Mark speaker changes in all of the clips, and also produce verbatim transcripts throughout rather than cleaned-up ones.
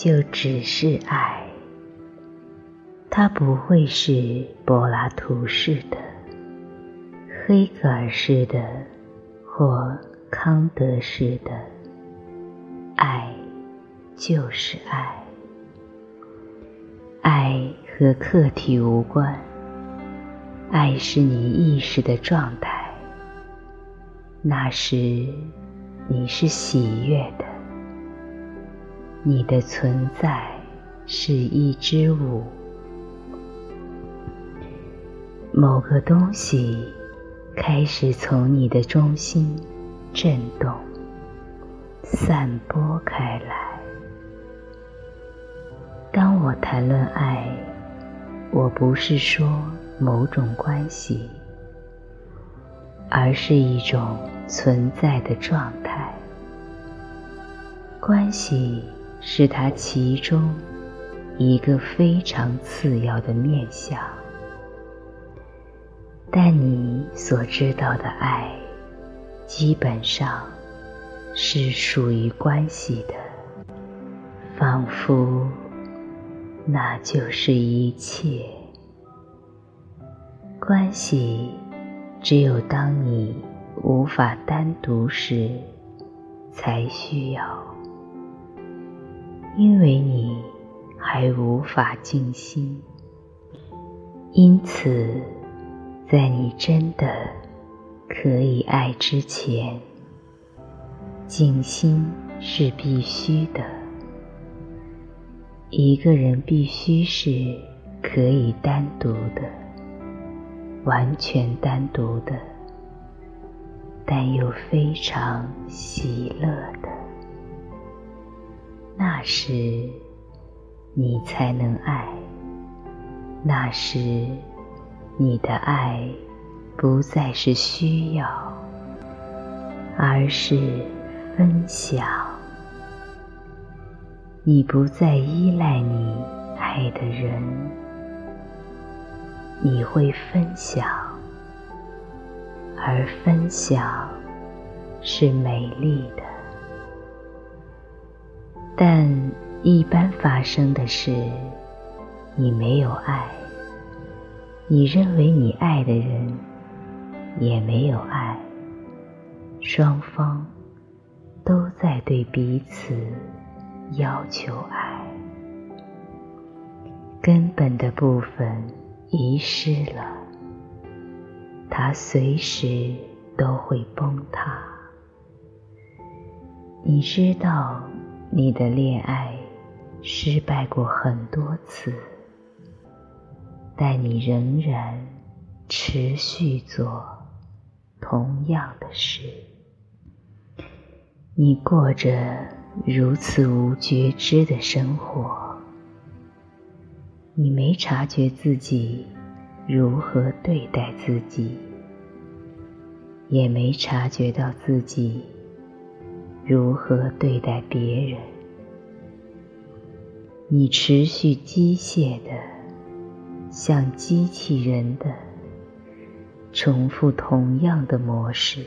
Speaker 1: 就只是爱，它不会是柏拉图式的、黑格尔式的或康德式的，爱就是爱。爱和客体无关，爱是你意识的状态，那时你是喜悦的，你的存在是一之物。某个东西开始从你的中心震动，散播开来。当我谈论爱，我不是说某种关系，而是一种存在的状态。关系是它其中一个非常次要的面向，但你所知道的爱基本上是属于关系的，仿佛那就是一切。关系只有当你无法单独时才需要，因为你还无法静心。因此在你真的可以爱之前，静心是必须的。一个人必须是可以单独的，完全单独的，但又非常喜乐的，那时你才能爱。那时你的爱不再是需要，而是分享。你不再依赖你爱的人，你会分享，而分享是美丽的。但一般发生的是，你没有爱，你认为你爱的人也没有爱，双方都在对彼此要求爱，根本的部分遗失了，它随时都会崩塌。你知道你的恋爱失败过很多次，但你仍然持续做同样的事。你过着如此无觉知的生活，你没察觉自己如何对待自己，也没察觉到自己如何对待别人。你持续机械的，像机器人的重复同样的模式，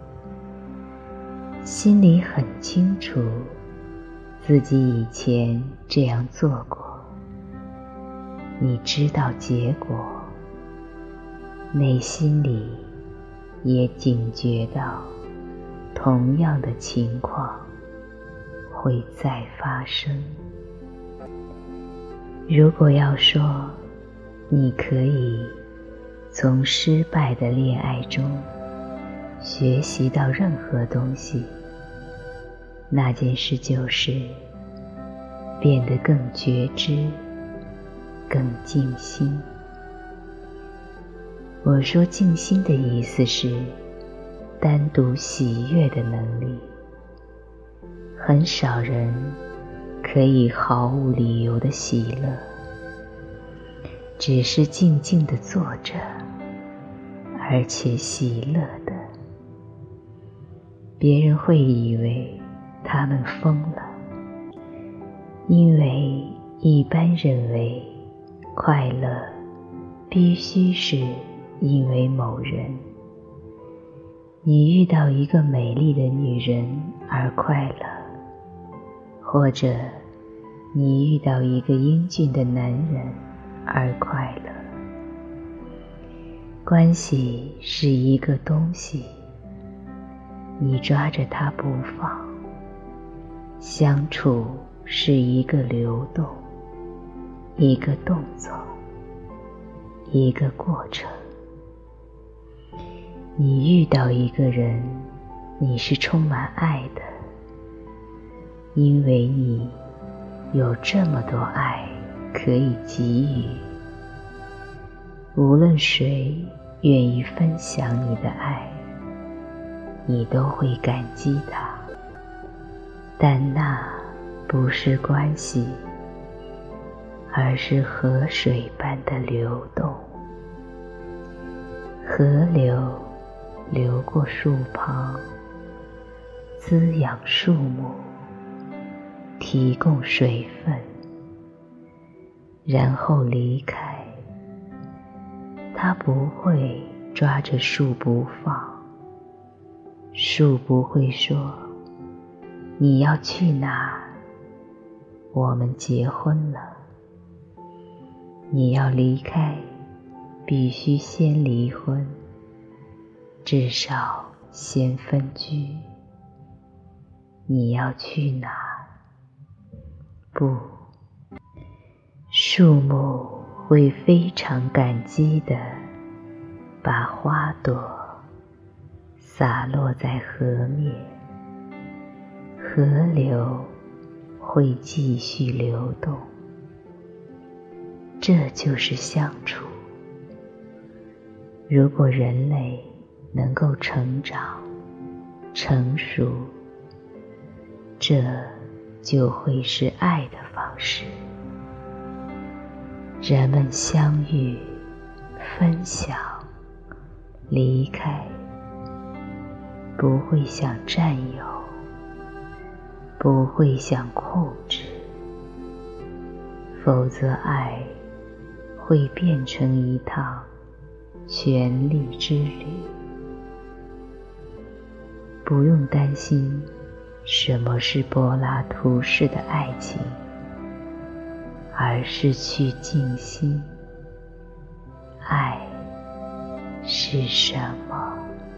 Speaker 1: 心里很清楚自己以前这样做过，你知道结果，内心里也警觉到同样的情况会再发生。如果要说你可以从失败的恋爱中学习到任何东西，那件事就是变得更觉知，更静心。我说静心的意思是单独喜悦的能力。很少人可以毫无理由的喜乐，只是静静地坐着，而且喜乐的。别人会以为他们疯了，因为一般认为快乐必须是因为某人。你遇到一个美丽的女人而快乐，或者你遇到一个英俊的男人而快乐。关系是一个东西，你抓着它不放。相处是一个流动，一个动作，一个过程。你遇到一个人，你是充满爱的，因为你有这么多爱可以给予。无论谁愿意分享你的爱，你都会感激他。但那不是关系，而是河水般的流动。河流流过树旁，滋养树木，提供水分，然后离开。它不会抓着树不放，树不会说你要去哪，我们结婚了。你要离开，必须先离婚，至少先分居。你要去哪？不，树木会非常感激地把花朵洒落在河面，河流会继续流动。这就是相处。如果人类能够成长、成熟，这就会是爱的方式。人们相遇、分享、离开，不会想占有，不会想控制，否则爱会变成一趟权力之旅。不用担心什么是柏拉图式的爱情，而是去静心。爱是什么？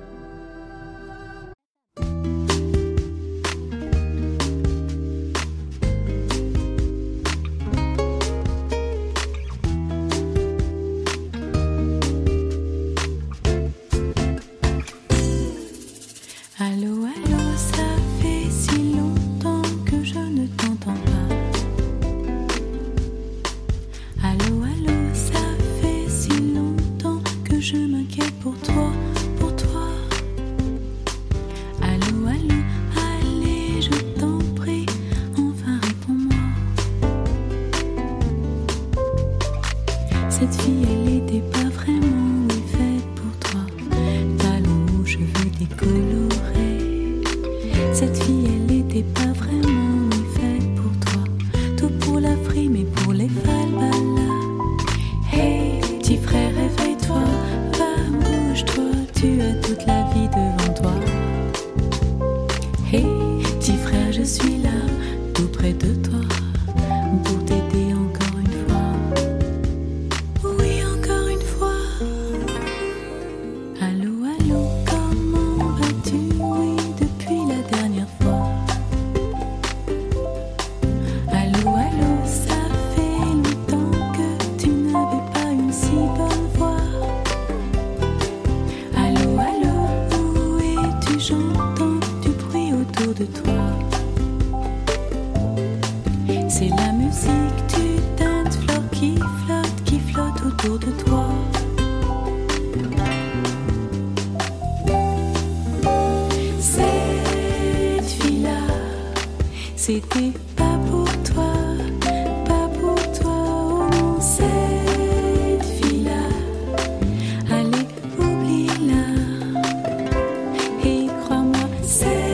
Speaker 2: Cette fille, elle était pas vraiment oui, faite pour toi. Talons hauts, cheveux décolorés. Cette fille, elle était pas vraiment oui, faite pour toi. Tout pour la frime et pour les falbalas. Hey, petit frère, réveille-toi, va, bouge-toi, tu as toute la vie devant toi. Hey, petit frère, je suis là, tout près de toi, pour t'aider encore une fois. De toi, c'est la musique du dance floor qui flotte, qui flotte autour de toi. Cette fille-là, c'était pas pour toi, pas pour toi, oh non, cette fille-là, allez, oublie-la, et crois-moi, c'est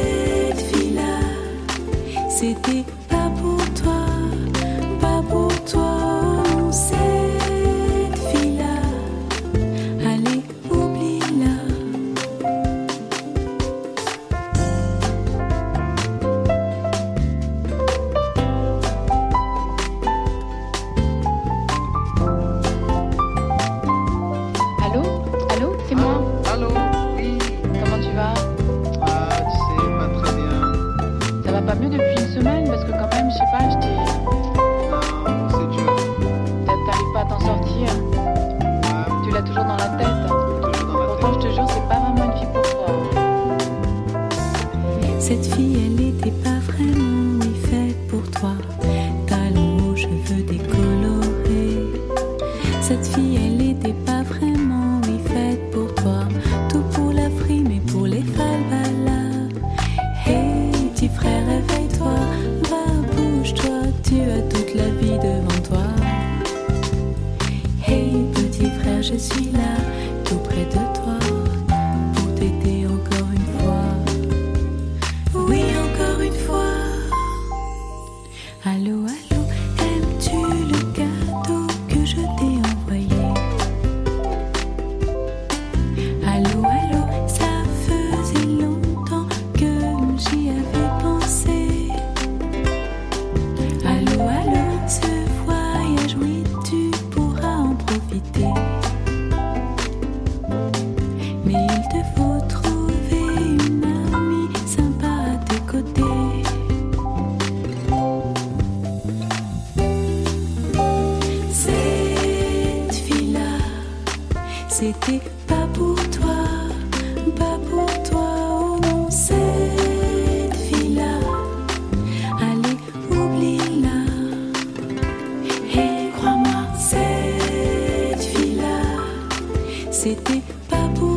Speaker 2: c'était pas pour toi, pas pour toi, oh, cette fille-là, allez, oublie-la.
Speaker 3: toujours dans la tête.
Speaker 4: Toujours dans la
Speaker 3: Pourtant, je te jure, c'est pas vraiment une fille pour toi.
Speaker 2: Cette fille, elle était pas vraiment oui, faite pour toi. Talons aux cheveux décolorés. Cette fille, elle était pas vraiment oui, faite pour toi. Tout pour la frime et pour les falbalas. Hey, petit frère, réveille-toi. Va, bouge-toi, tu as toute la vie devant toi. Hey, petit frère, je suis là, tout près de toi, pour t'aider encore une fois. Oui, encore une fois. Allô, allô, aimes-tu le cadeau que je t'ai envoyé? Allô, allô, ça faisait longtemps que j'y avais pensé. Allô, allô, ce voyage, oui, tu pourras en profiter. Mais il te faut trouver une amie sympa à tes côtés. Cette fille-là, c'était pas pour toi, pas pour toi, oh non. Cette fille-là, allez, oublie-la. Et crois-moi, cette fille-là, c'était pas pour